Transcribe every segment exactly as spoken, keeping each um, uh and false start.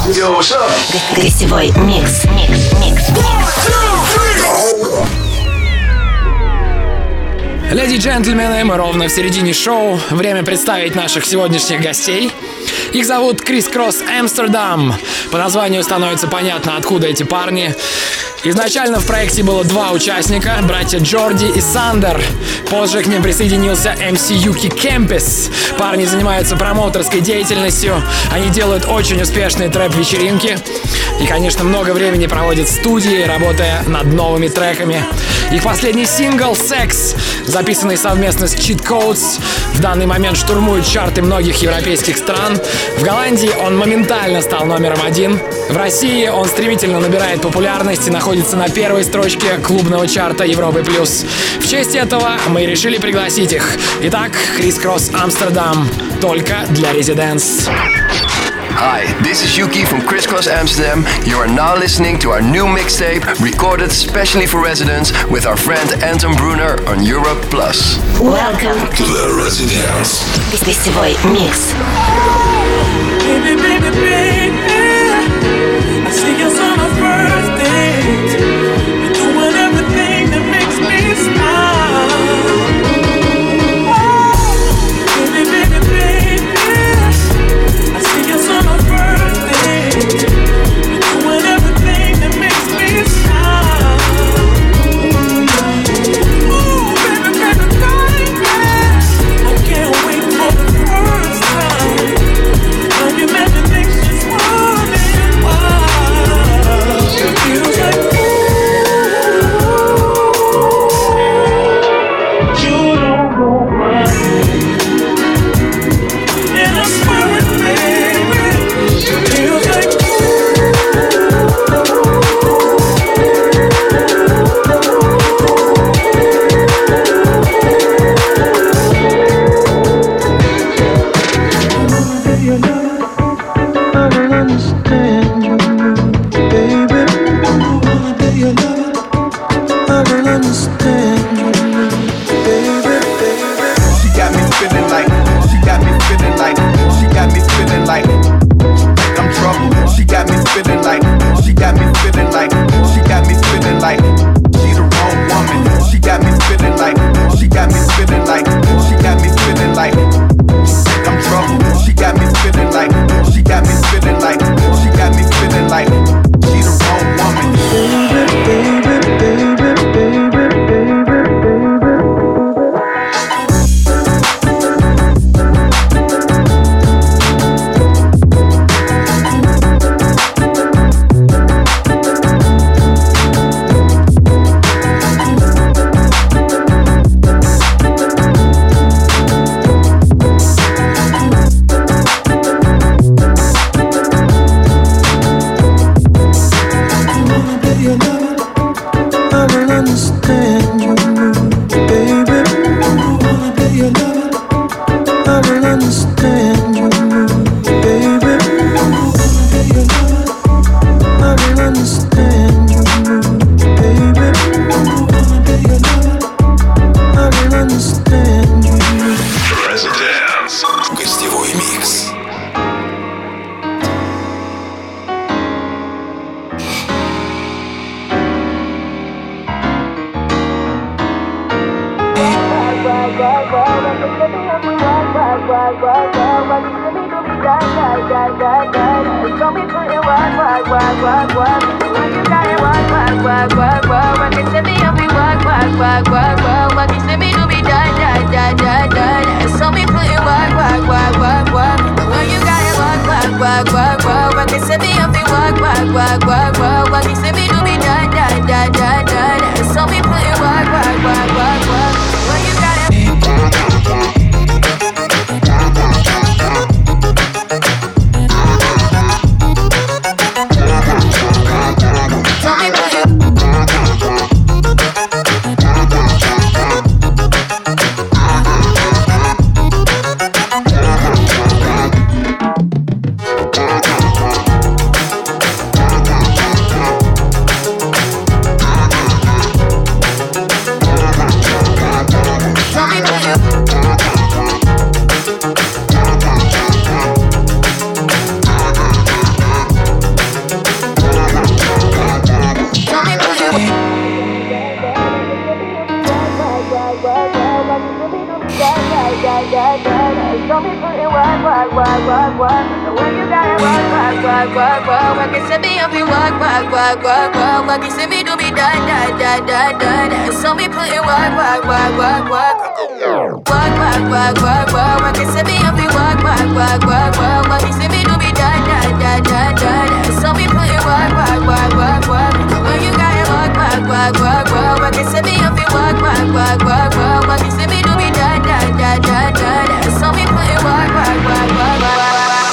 Yo, what's up? Гостевой микс, микс, микс, Леди и джентльмены, мы ровно в середине шоу. Время представить наших сегодняшних гостей. Их зовут Крис Кросс Амстердам. По названию становится понятно, откуда эти парни. Изначально в проекте было два участника, братья Джорди и Сандер. Позже к ним присоединился эм си Юки Кемпес. Парни занимаются промоутерской деятельностью. Они делают очень успешные трэп-вечеринки. И, конечно, много времени проводят в студии, работая над новыми треками. Их последний сингл «Sex», записанный совместно с Cheat Codes, в данный момент штурмует чарты многих европейских стран. В Голландии он моментально стал номером один. В России он стремительно набирает популярность и находится на первой строчке клубного чарта Европы+. В честь этого мы решили пригласить их. Итак, Крис Кросс Амстердам. Только для Residents. Hi, this is Yuki from Criss Cross Amsterdam. You are now listening to our new mixtape, recorded specially for residents with our friend Anton Brunner on Europe Plus. Welcome to the Residents. Гостевой микс. Baby, baby, baby, I see us on our first date. You're doing everything that makes me smile. Baby, baby, baby, I see us on our first date. You're doing everything that makes me smile. Ooh, baby, baby, baby, I can't wait for the first time. Now you make me think she's running wild. It feels like you don't know my name, and I swear it, baby. It feels like I will understand you, baby. Wanna be your lover. I will understand you, baby, baby. She got me feeling like, she got me feeling like, she got me feeling like, like I'm trouble. She got me feeling like, she got me feeling like, she got me feeling like, she the wrong woman. She got me feeling like, she got me feeling like, she got me feeling like, like I'm trouble. She got me feeling like, she got me feeling like, she got me feeling like, she the wrong woman. Baby, baby, baby, baby, baby, baby. Wanna be your lover. I will understand you, baby. Wanna be your lover. I will understand you, baby. Wanna be your lover. I will understand you, baby. Wanna be your lover. I will understand you. Residents. Гостевой микс. work. The way you gotta work, work, work, work, work. Work it to me, if you work, work, work, work, work. Work it to me, do me da da da da da da. So me put in work, work, work, work, work. Work, work, work, work, work. Work it to me, if you work, work, work, work, work. Work it to me, do me da da da da da da. So me put in work, work, work, work, work. The way you gotta work, work, work, work, work. Work it to me, if you work, work, work, work, work. Work it to me, do me da da da da da da. So me put in work, work, work, work, work.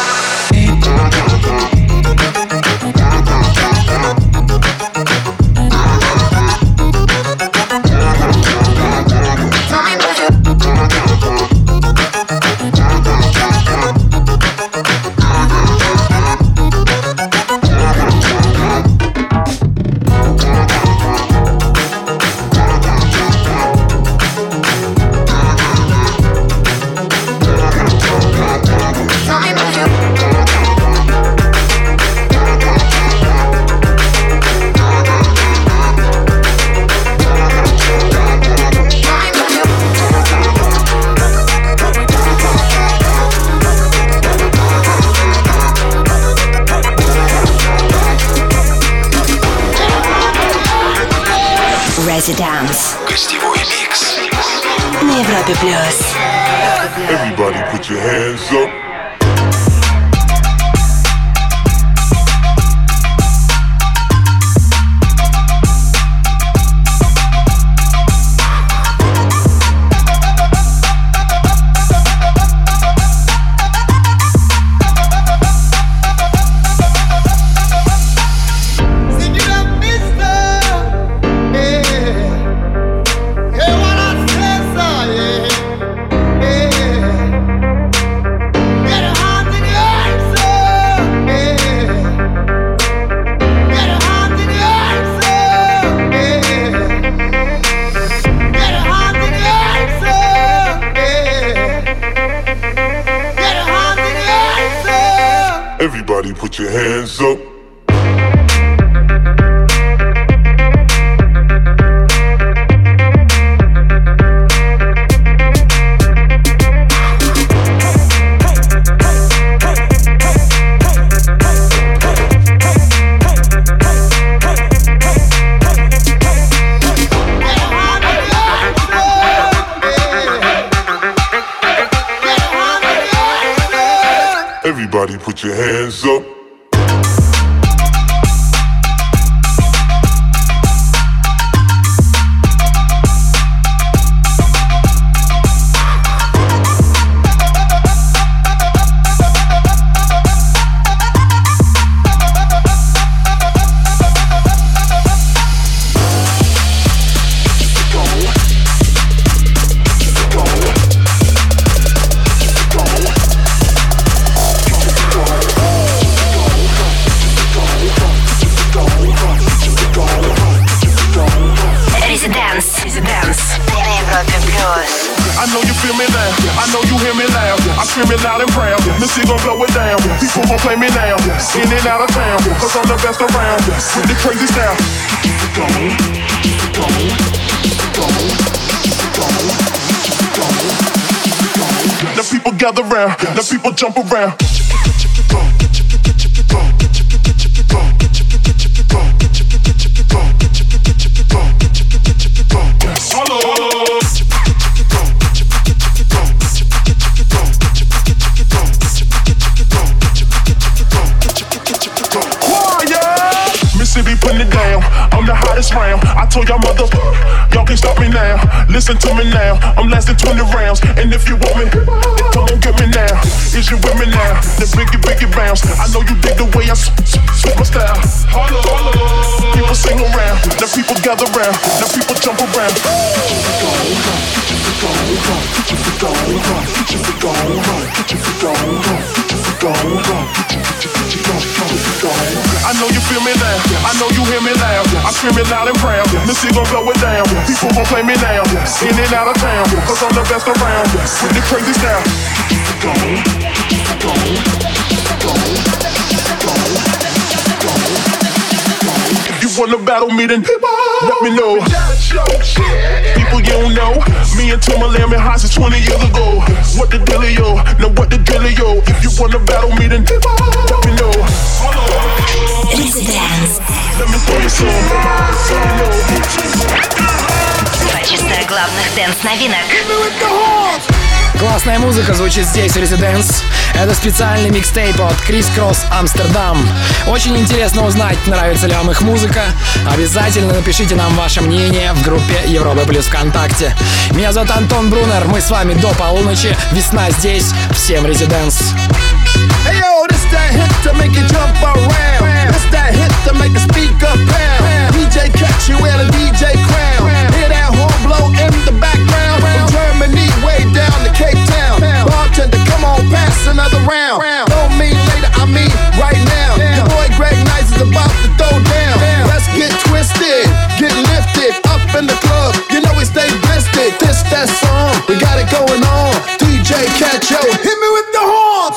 Residence. Гостевой микс. На Европе плюс. Everybody put your hands up. Everybody put your hands up. Everybody put your hands up. I know you feel me now, I know you hear me loud. I scream it loud and proud. Missy gon' blow it down. People gon' play me now, in and out of town. Cause I'm the best around, with the crazy style. The people gather round, the people jump around. Mississippi putting it down, I'm the hottest round. I told y'all mother, y'all can't stop me now. Listen to me now, I'm lasting twenty rounds. And if you want me, then come on get me now. Is you with me now? The biggie, biggie bounce. I know you dig the way I switch my style. Holla, holla. People sing around, the people gather round, the people jump around. I know you feel me now, I know you hear me loud. I scream it loud and proud. Missy gon' blow it down. People gon' play me now, in and out of town. Cause I'm the best around, with the crazy style. If you wanna battle me, then let me know. People you don't know, me and Timberland been hot since twenty years ago. What the dealio? Now what the dealio? If you wanna battle me, then let me know. Residence. Let me tell you something. Два часа главных дэнс-новинок. Классная музыка звучит здесь в Residence. Это специальный микстейп от Criss Cross Amsterdam. Очень интересно узнать, нравится ли вам их музыка. Обязательно напишите нам ваше мнение в группе Европа Плюс ВКонтакте. Меня зовут Антон Брунер. Мы с вами до полуночи. Весна здесь. Всем Residence. Hey yo, this that hit to make you jump around. This that hit to make the speaker pound. D J catch you wear the D J crown. Hear that horn blow in the background. From Germany way down to Cape Town. Bartender, come on, pass another round. Don't mean later, I mean right now. Your boy Greg Nice is about to throw down. Let's get twisted, get lifted up in the club. You know we stay blistered. This that song, we got it going on. D J catch yo, hit me with the horns.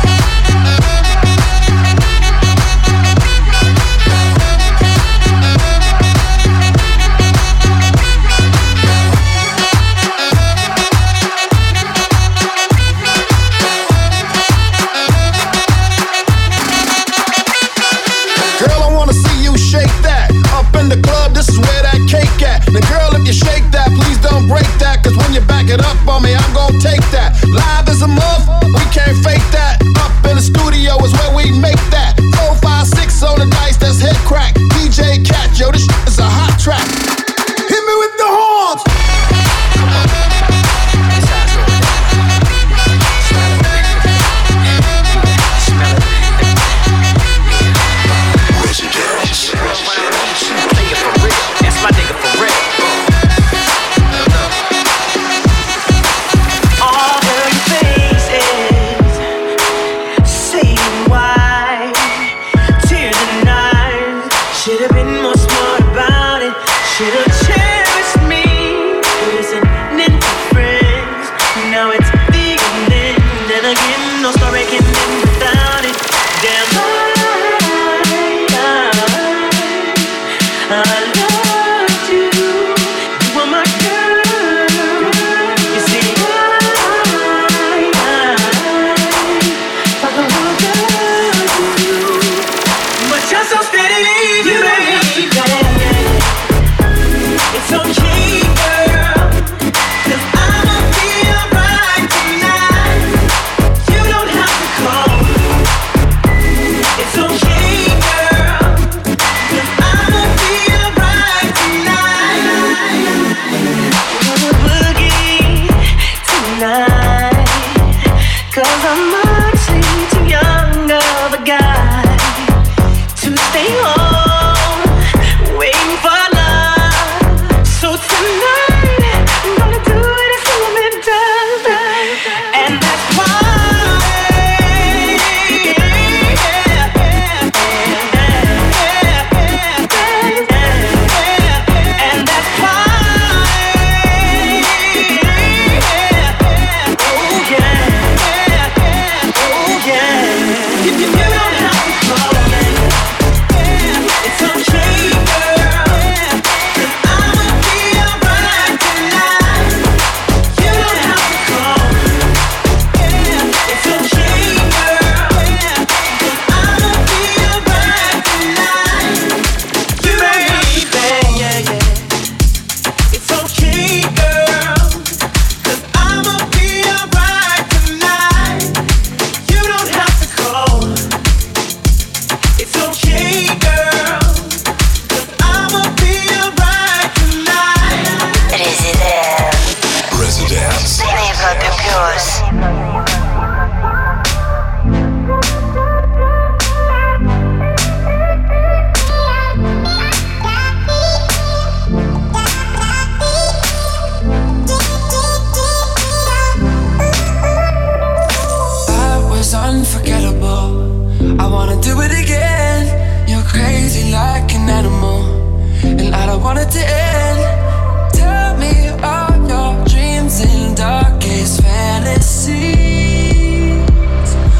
Now girl, if you shake that, please don't break that. Cause when you back it up on me, I'm gon' take that. Live as a muff, we can't fake that. Up in the studio is where we make that. Four, five, six on the dice, that's head crack. D J Cat, yo, this shit is a hot track. Hit me with the horns. My nigga for real. All the faces say why. Tears and eyes. Should've been more smart about it. Should've cherished me. Listening to friends. Now it's the end. Then again, no story can end without it. Damn, I, I, I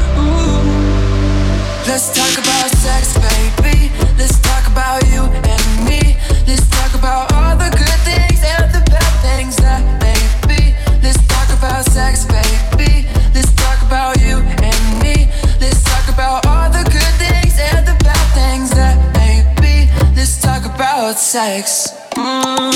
Let's talk about sex, baby. Let's talk about you and sex. Mm.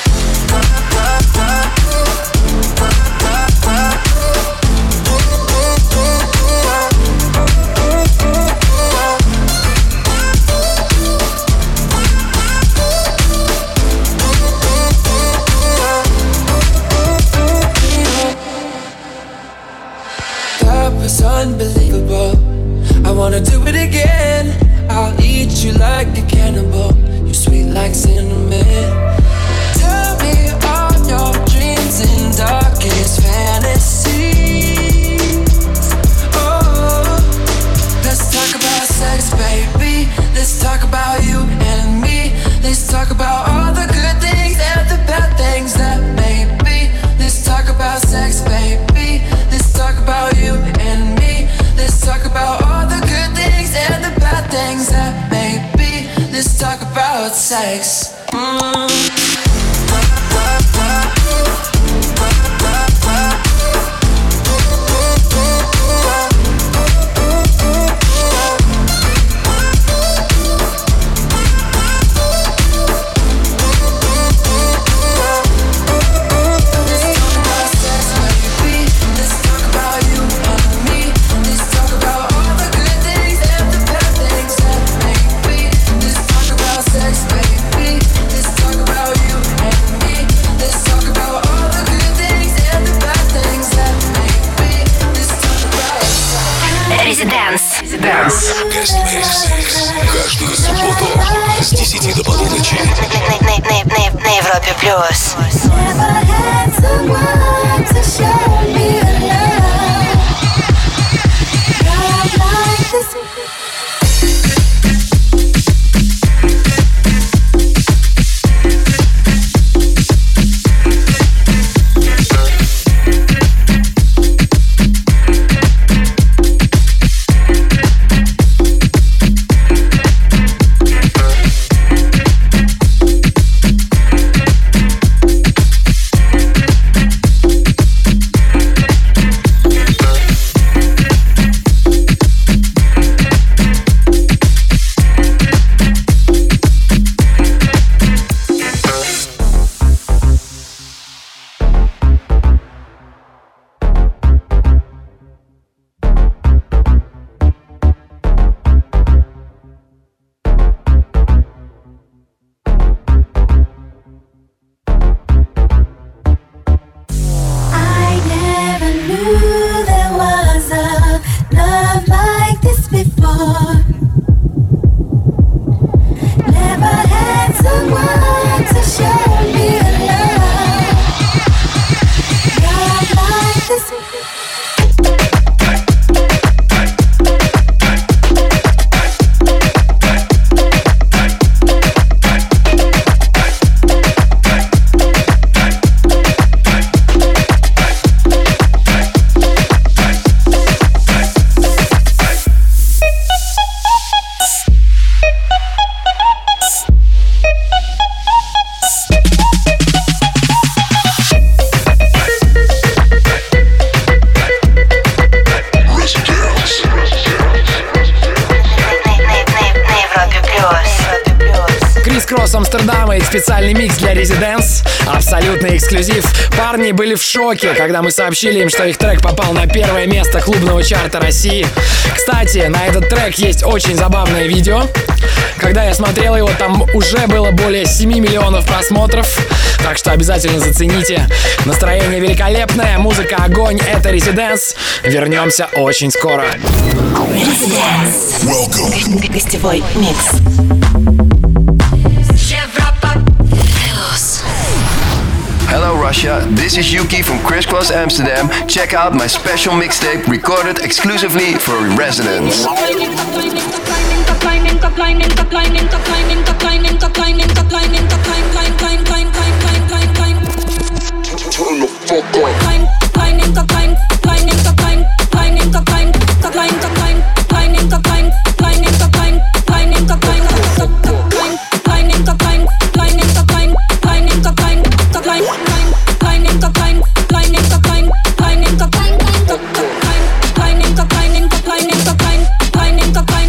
That was unbelievable. I wanna do it again. I'll eat you like a cannibal. You sweet like cinnamon. Tell me all your dreams and darkest fantasies. Oh, let's talk about sex, baby. Let's talk about you and me. Let's talk about all the good things and the bad things that may be. Let's talk about sex, baby. Let's talk about you and me. Let's talk about all the good things and the bad things that may be. Let's talk about sex. Mm. Каждую субботу с десяти до полуночи. На Европе плюс. Амстердама и специальный микс для Residents. Абсолютный эксклюзив. Парни были в шоке, когда мы сообщили им, что их трек попал на первое место клубного чарта России. Кстати, на этот трек есть очень забавное видео. Когда я смотрел его, там уже было более семи миллионов просмотров. Так что обязательно зацените. Настроение великолепное, музыка огонь. Это Residents. Вернемся очень скоро. Residents. Гостевой микс. Hello Russia, this is Yuki from Crisscross Amsterdam. Check out my special mixtape recorded exclusively for Residents. Turn the fuck on. Climb,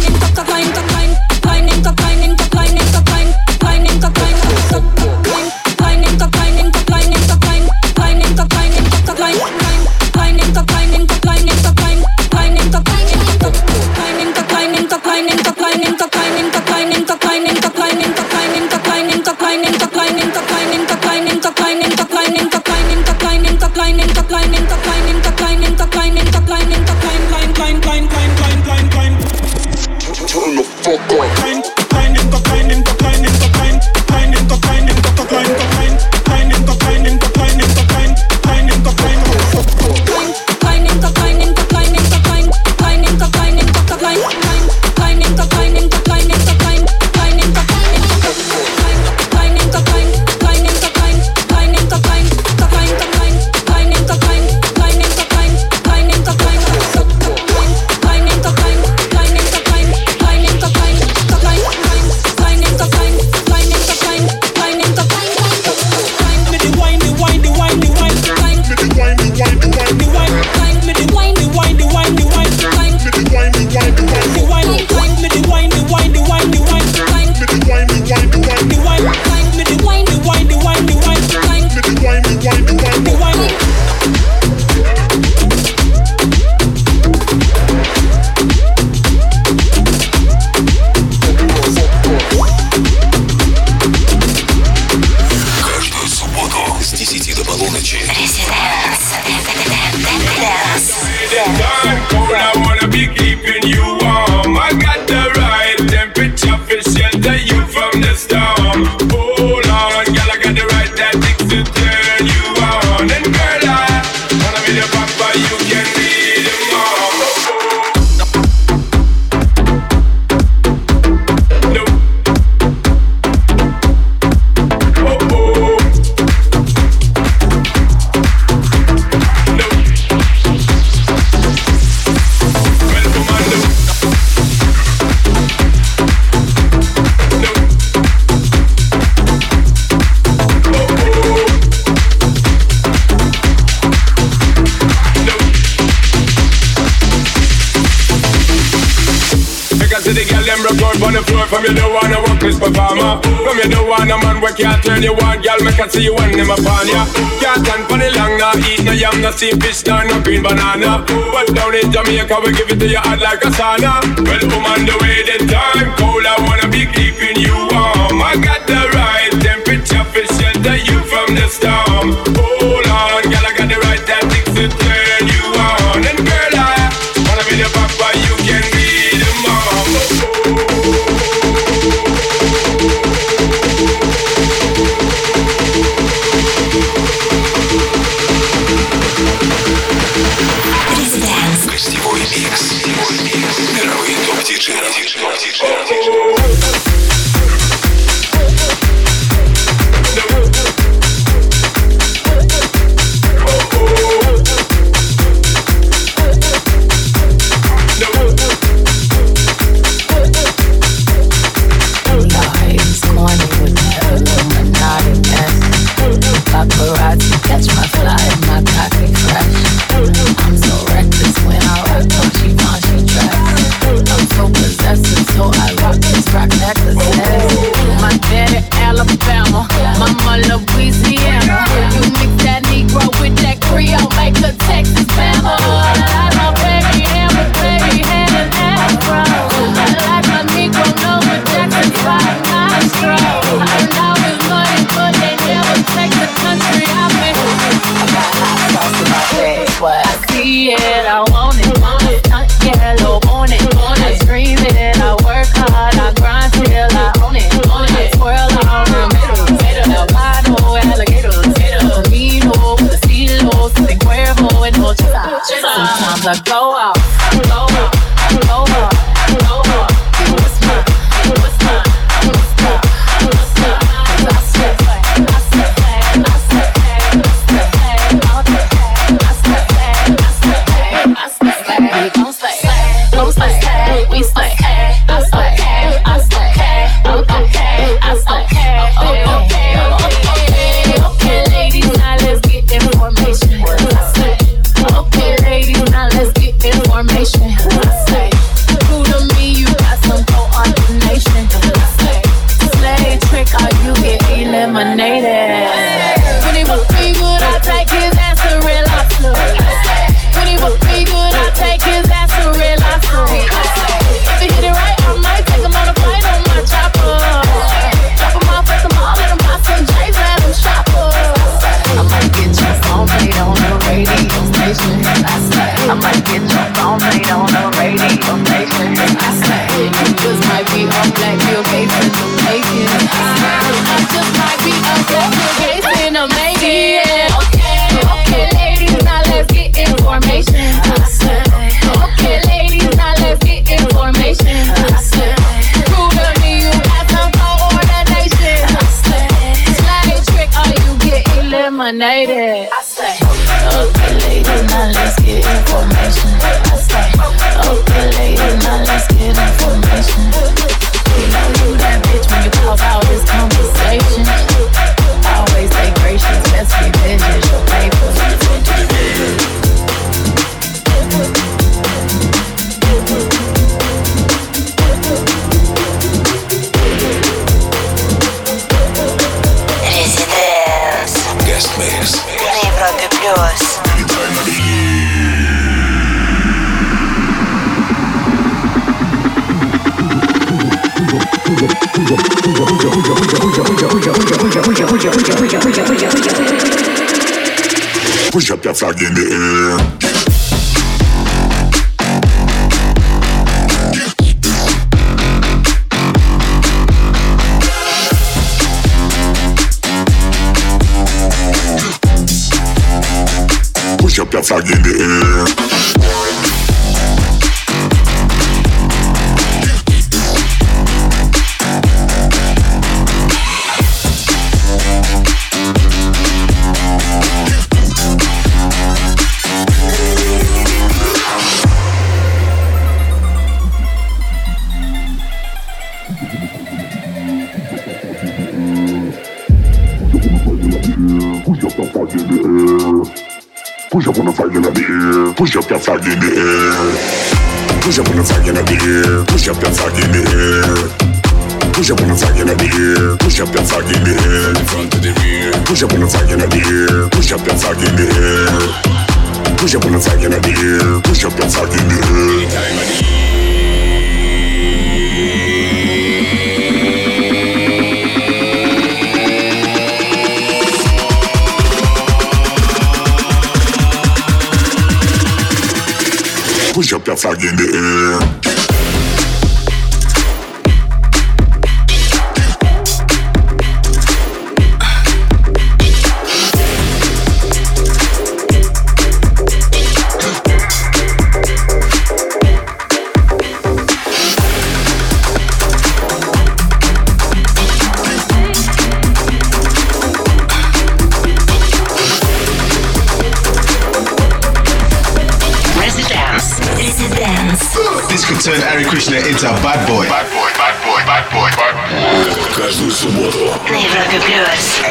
I see the girl them rock out on the floor. From you don't wanna work this performer. From you don't want a man where can't turn you on. Girl, make I see you when them upon ya. Can't stand for the long, nah. Eat no yam, no sea fish, nah, no green banana. But down in Jamaica, we give it to you hot like a sauna. Well, woman, the way the time cold, I wanna be keeping you warm. I got the right temperature for shelter you from the storm. Hold on, girl, I got the right tactics to turn you on. And girl, I wanna be the papa, you can be the mom. Гостевой микс. Мировые топ-диджеи. Paparazzi catch my fly, my cocky fresh. I'm so reckless when I rock them, she wants, she dress. I'm so possessive, so I rock these rock necklaces. My daddy Alabama, mama Louisiana. You mix that Negro with that Creole, make a Texas Bama. I like my baby hair with baby hair and afro. I like my Negro nose with Jackson five nostrils. I know it's money, but they never take the country out me. I got hot sauce in my bag, but I see it, I want it. Stunt yellow on it. I dream it, I work hard, I grind till I own it. I twirl on the middle, albino, alligator, camino, estilo, sin cuervo, en noche. Sometimes I go out, I go out, I go out, I go out. You whisper, you whisper, I whisper, I whisper. 'Cause I swear, I swear, I swear, I swear, I swear, I swear, I swear, we gon' slay, gon' slay, we slay. I slay, I slay, okay, I slay, okay, okay, okay, okay, ladies, now let's get information. I slay, okay, ladies, now let's get information. I slay, true to me, you got some coordination. I slay, slay trick, or you get eliminated. When he was be good, I take his ass to real lobster. When he was be good, I take his ass to real lobster. If he hit it right, I might take him on a flight on my chopper. Drop him off at the mall, let him buy some J's, let him shop up. I might get your phone played on the radio station. I say, I might get your phone played on the radio station. I say, you just might be on Black Bill Gates in the making. I say, I just might be on Black Bill Gates in the making. Okay, okay, ladies, now let's get information. I say, okay, ladies, now let's get information. I say, prove to me you got some coordination. I say, slide trick or you get eliminated. I say, okay, ladies, now let's get information. I say, okay, ladies, now let's get information. You know you that bitch when you pop out this conversation. Always stay gracious, best revenge is your paper. Residence Guest mix. на Европе плюс. Push up your flag in the air. Push up your flag in the air. Push up on the flag in the air. Push up your flag in the air. Push up on the flag in the air. Push up that flag in the air. Push up on the flag in the air. Push up that flag in the air. In front to the rear. Push up on the flag in the air. Push up that flag in the air. Push up on the flag in the air. Push up that flag in the air. Time of the push up that flag in the air. This could turn Hare Krishna into a bad boy. Bad boy, bad boy, bad boy, bad boy. Каждую субботу на Европе Плюс.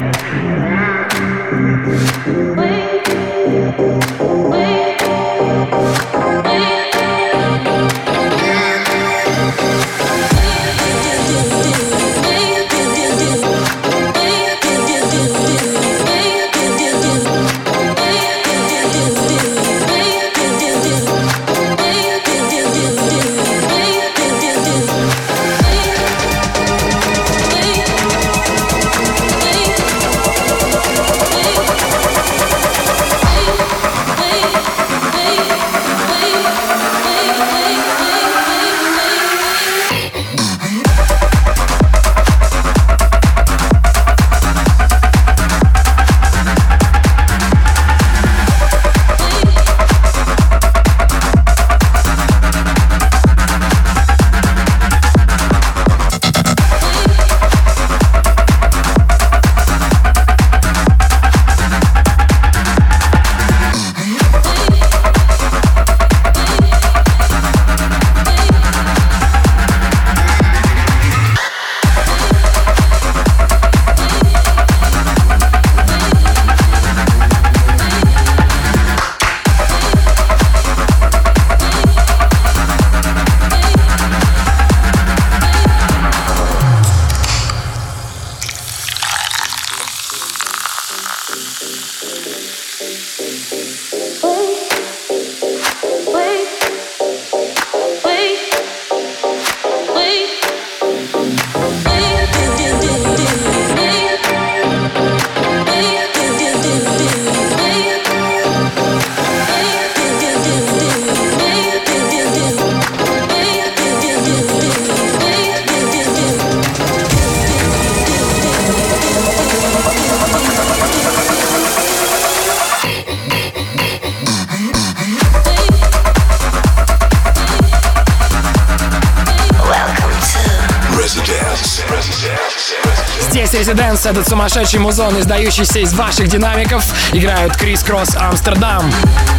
Здесь Residence, этот сумасшедший музон, издающийся из ваших динамиков, играют Крис Кросс Амстердам.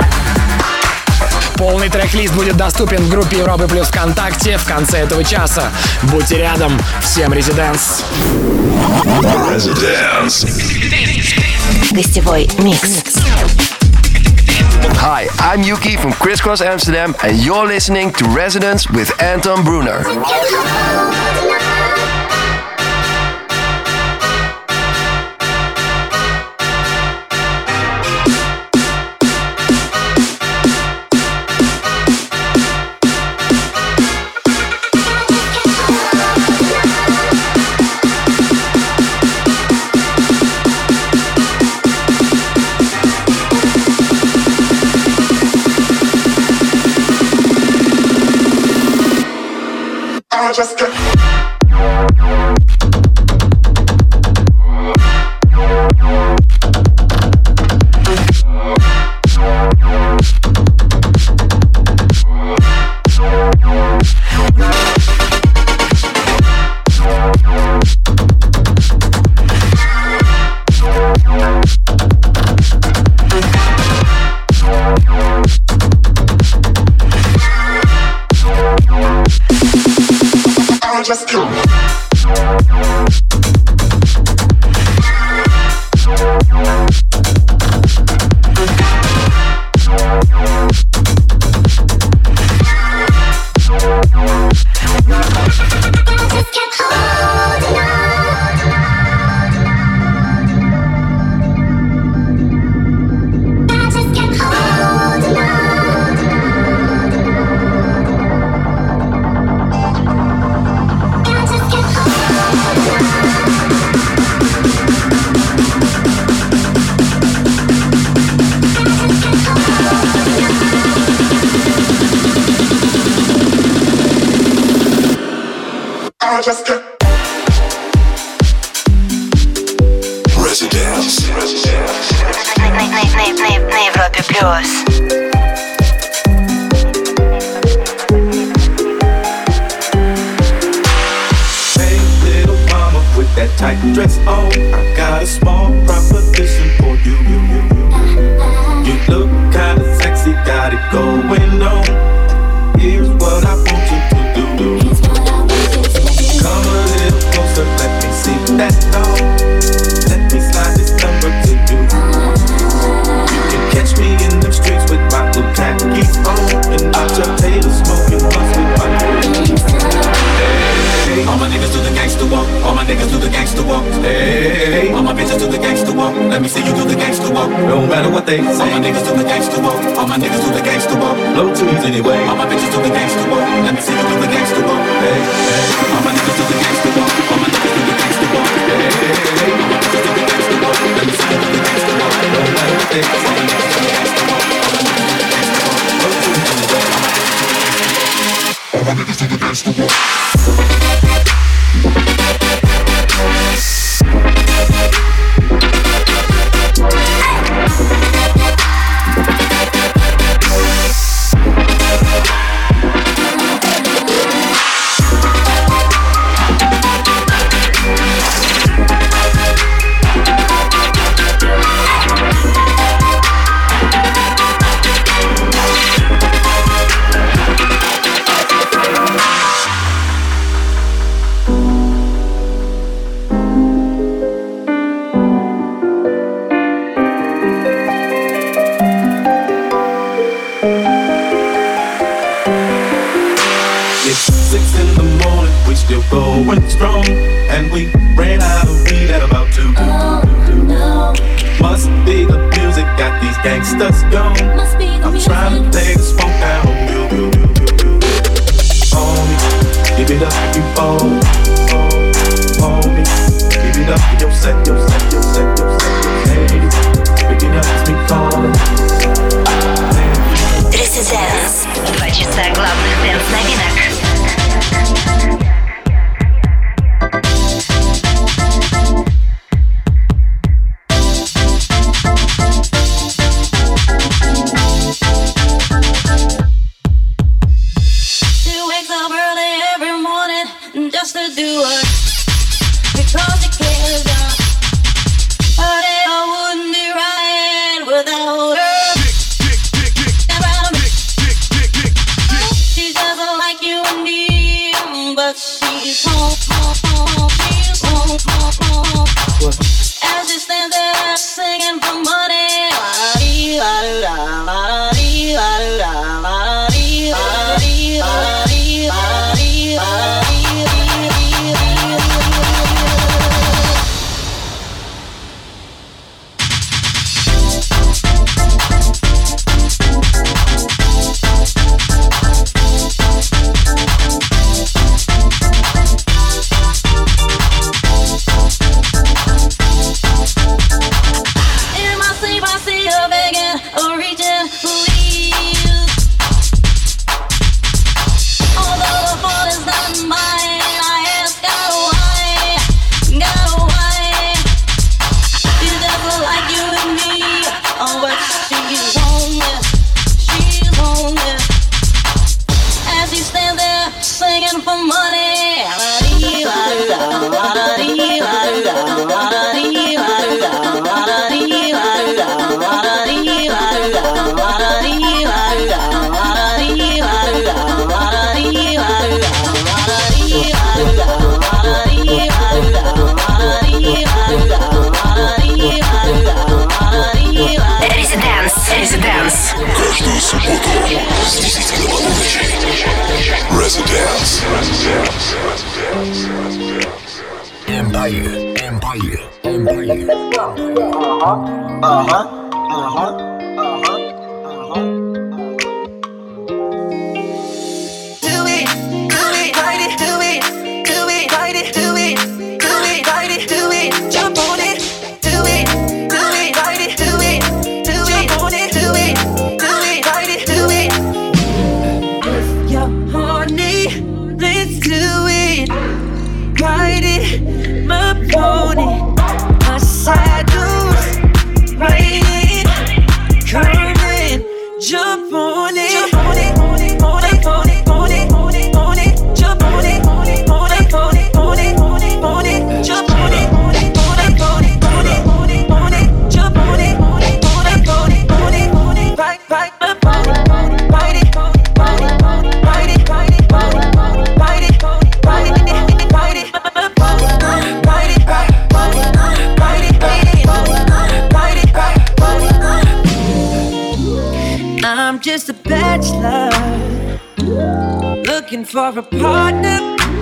Полный трек-лист будет доступен в группе Европы Плюс ВКонтакте в конце этого часа. Будьте рядом. Всем Residence. Residence. Гостевой микс. Hi, I'm Yuki from Criss Cross Amsterdam, and you're listening to Residence with Anton Brunner. Just get just kill me. I just can't. Residence. На Европе плюс. That tight dress on, I got a small proposition for you. You, you, you. You look kinda sexy, got it going on. Here's what I want you to do. Come a little closer, let me see that dog. Let me slide this number to you. You can catch me in the streets with my blue khakis on, and out your tail smoking blunts with my hey, all my niggas do the gangsta walk. All my niggas do the gangsta walk. Hey, all my bitches do the gangsta walk. Let me see you do the gangsta walk. No matter what they say. All my niggas do the gangsta walk. All my niggas do the gangsta walk. Blow tunes anyway. All my bitches do the gangsta walk. Let me see you do the gangsta walk. Hey, hey, all my niggas do the gangsta walk. All my niggas do the gangsta walk. Hey, hey, all my bitches do the gangsta walk. Let me see you do the gangsta walk. No matter what they say. All my niggas do the gangsta walk. All my niggas do the gangsta walk. Blow tunes anyway. All my niggas do the gangsta walk. Going strong, and we ran out of weed at about two. Oh, no. Must be the music got these gangsters gone. I'm trying to play this funk down. Homie, give it up if you fall. Homie, give it up for your set, your set, your set, your set. Hey, pick it up, it's me calling. Residence. Два часа главных дэнс-новинок. Каждую субботу с десяти до полуночи. Residence. Empire. Empire. Empire. Uh-huh. Uh-huh. Uh-huh. riding my pony, my saddle's riding, come and jump on it, jump on it, on it, on it, on it, on it, on it, on it, jump on it, on it, on it, on it, on it, on it, on it, jump on it, on it, on it, on it, on it, on it, on it, jump on it, on it, on it, on it, on it, on it, ride, ride my pony, ride it, ride it, ride it, ride it, ride it, ride it, ride it, ride it, ride it, ride it, I'm just a bachelor looking for a partner,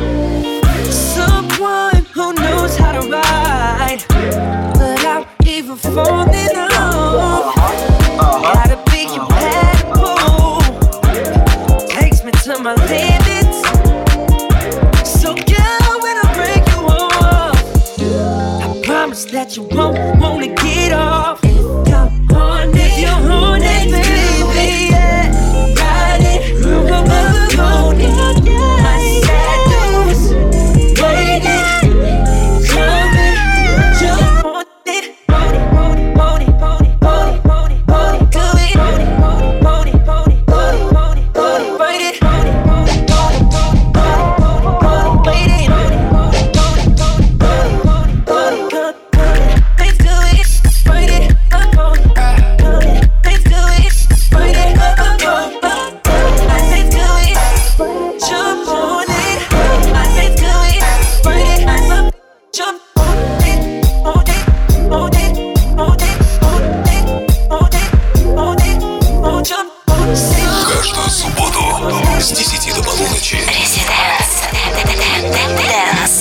someone who knows how to ride without even falling off. Gotta be compatible, takes me to my limits. So girl, when I break you off, I promise that you won't wanna get off. If you're on it, you're on it, baby, yeah. Ride it, move on it. My saddle's waiting, coming, jump on it. Pony, pony, pony, pony, pony, pony, pony, do it. Pony, pony, pony, pony, pony, pony, pony, ride it. Pony, pony, pony, pony, pony, pony, waiting. Pony, pony, pony, pony, pony, pony, come, come, let's do it. Ride it, up on it. Come, let's do it. Ride it, up on it. Let's do it. Jump on it. Let's do it. Ride it, up, jump on it, on it, on it, on it, on it, on it, on it, on jump on it. Каждую субботу с десяти до полуночи. Residence. Dance.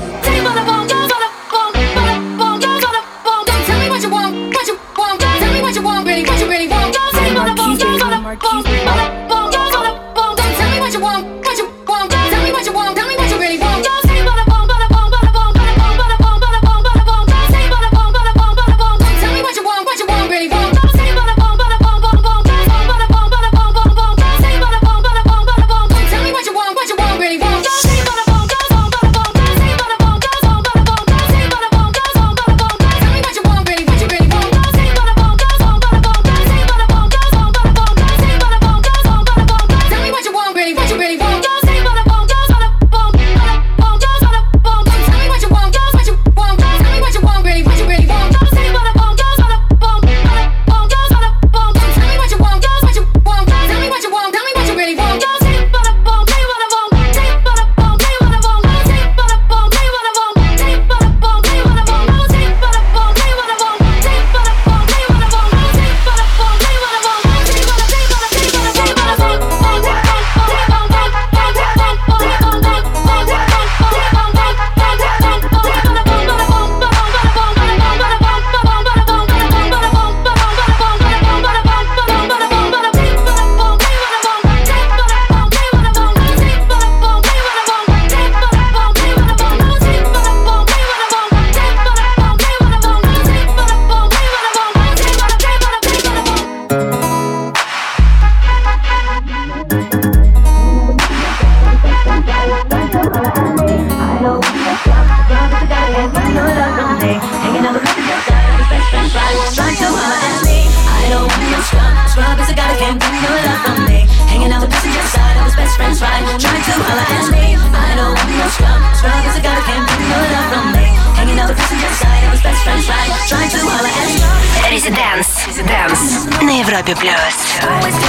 Residence на Европе плюс.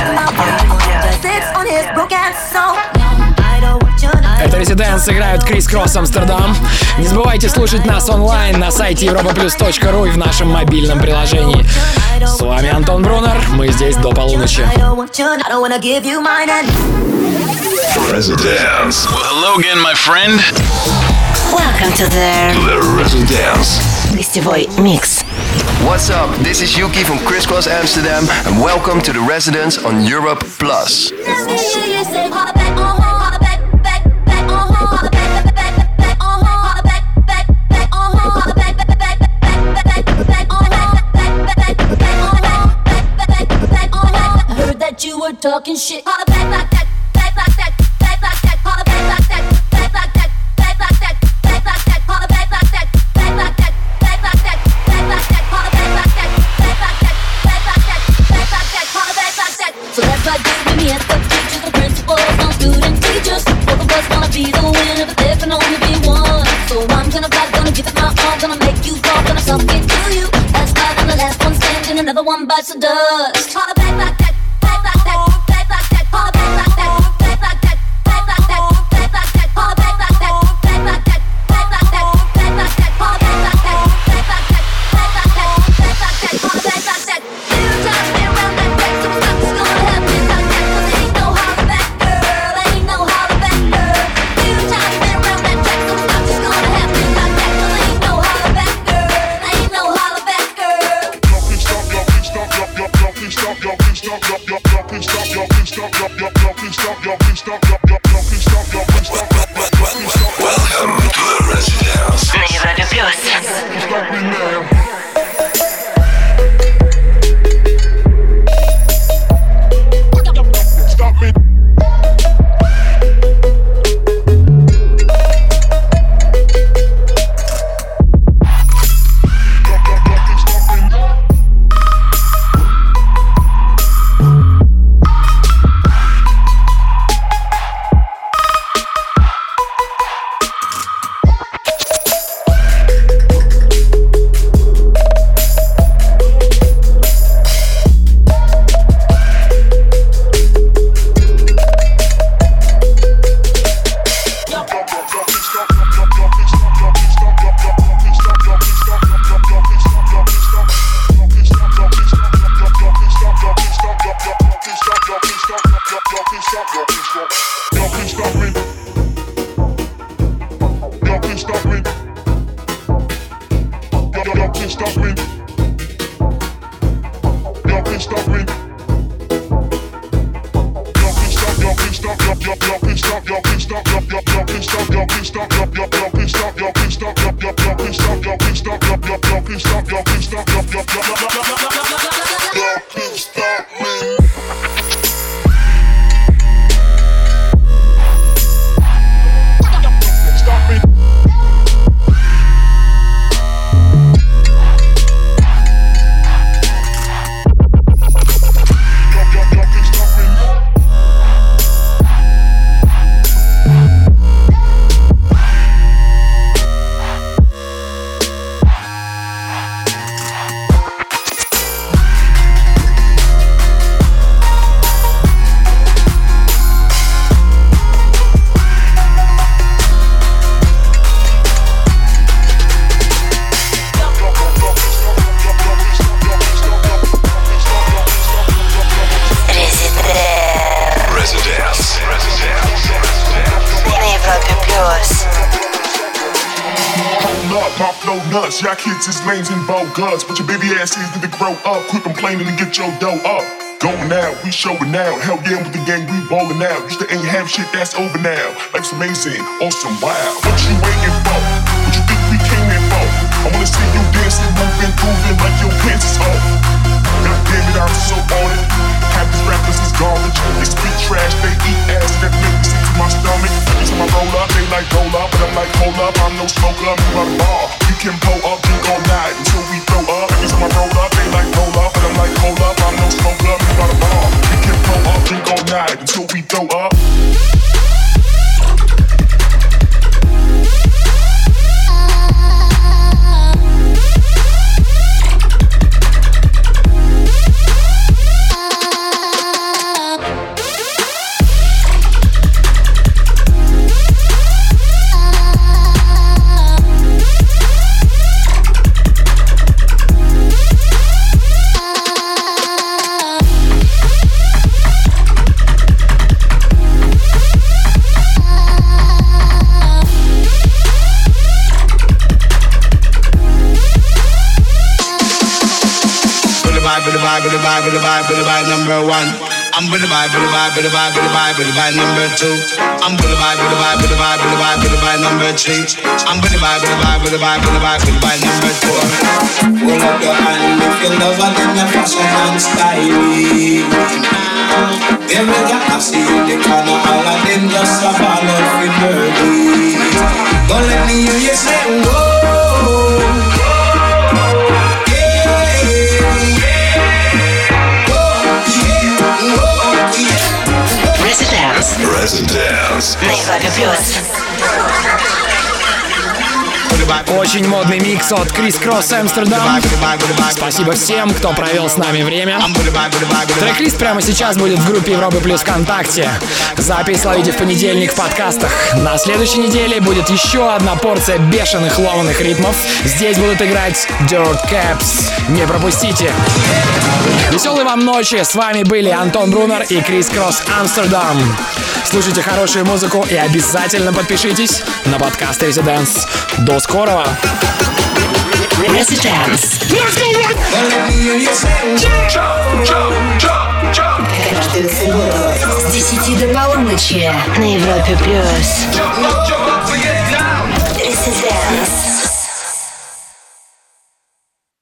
Это Residence, играют Крис Кросс Амстердам. Не забывайте слушать нас онлайн на сайте европа плюс точка ру и в нашем мобильном приложении. С вами Антон Брунер, мы здесь до полуночи. Residence. Well, hello again, my friend. Welcome to the, the Residence. Гостевой микс. What's up? This is Yuki from Crisscross Amsterdam, and welcome to the Residence on Europe Plus. I heard that you were talking shit. Holla back like that, back like that, back like that, holla back like that, back like that, back like that, back like one bites the dust. Holla back like that, back like that, back like that. Holla back like that, back like that, back like that, back like that. Holla back like that, back like that, back like that, back like that. Holla back like that, back like that, back like that, back like that. Holla back like that. Little time been around that back, so it's not just gonna happen like that. 'Cause ain't no holla back, girl. Ain't no holla back, girl. Little time been around that back, so it's not just gonna happen like that. 'Cause ain't no holla back, girl. Ain't no holla back, girl. Stop, y'all, please stop, y'all, y'all, y'all, please stop, y'all, please stop, y'all, y'all, y'all, please stop, y'all, please stop, y'all, y'all, y'all, please stop, y'all, please stop, y'all, y'all, y'all, please stop, y'all, please stop, y'all, y'all, please stop. Welcome to the residence. На Европе плюс. Stop me now. Stop me. Y'all kids is lames and bogus, but your baby ass is need to grow up. Quit complaining and get your dough up. Going now, we showing now. Hell yeah, with the gang, we ballin' out. Used to ain't have shit, that's over now. Life's amazing, awesome, wow. What you waiting for? What you think we came here for? I wanna see you dancing, moving, grooving like your pants is off. God damn it, I'm so on it. Half these rappers is garbage. They speak trash, they eat ass, that make me sick to my stomach. Every time I roll up, they like roll up, but I'm like hold up, I'm no smoker, I'm about a bar. You can pull up, drink all night until we throw up. Every time I roll up, they like roll up, but I'm like hold up, I'm no smoker, I'm about a bar. You can pull up, drink all night until we throw up. With the vibe, with the vibe, with the vibe, with the vibe number one. I'm with the vibe, with the vibe, with the vibe, with the vibe, with the vibe number two. I'm with the vibe, with the vibe, with the vibe, with the vibe, with the vibe number three. I'm with the vibe, with the vibe, with the vibe, with the vibe, with the vibe number four. Hold up your hand if you love her, then your fashion and style. Every girl I see in the corner, all of them just a ball of fidelity. Don't let me hear you say whoa. Residence. На Европе плюс. Очень модный микс от Крис Кросс Амстердам. Спасибо всем, кто провел с нами время. Трек-лист прямо сейчас будет в группе Европы Плюс ВКонтакте. Запись ловите в понедельник в подкастах. На следующей неделе будет еще одна порция бешеных ломаных ритмов. Здесь будут играть Dirt Caps. Не пропустите. Веселой вам ночи. С вами были Антон Брунер и Крис Кросс Амстердам. Слушайте хорошую музыку и обязательно подпишитесь на подкаст Residence. До скорого! Residence. Каждую субботу с десяти до полуночи на Европе Плюс.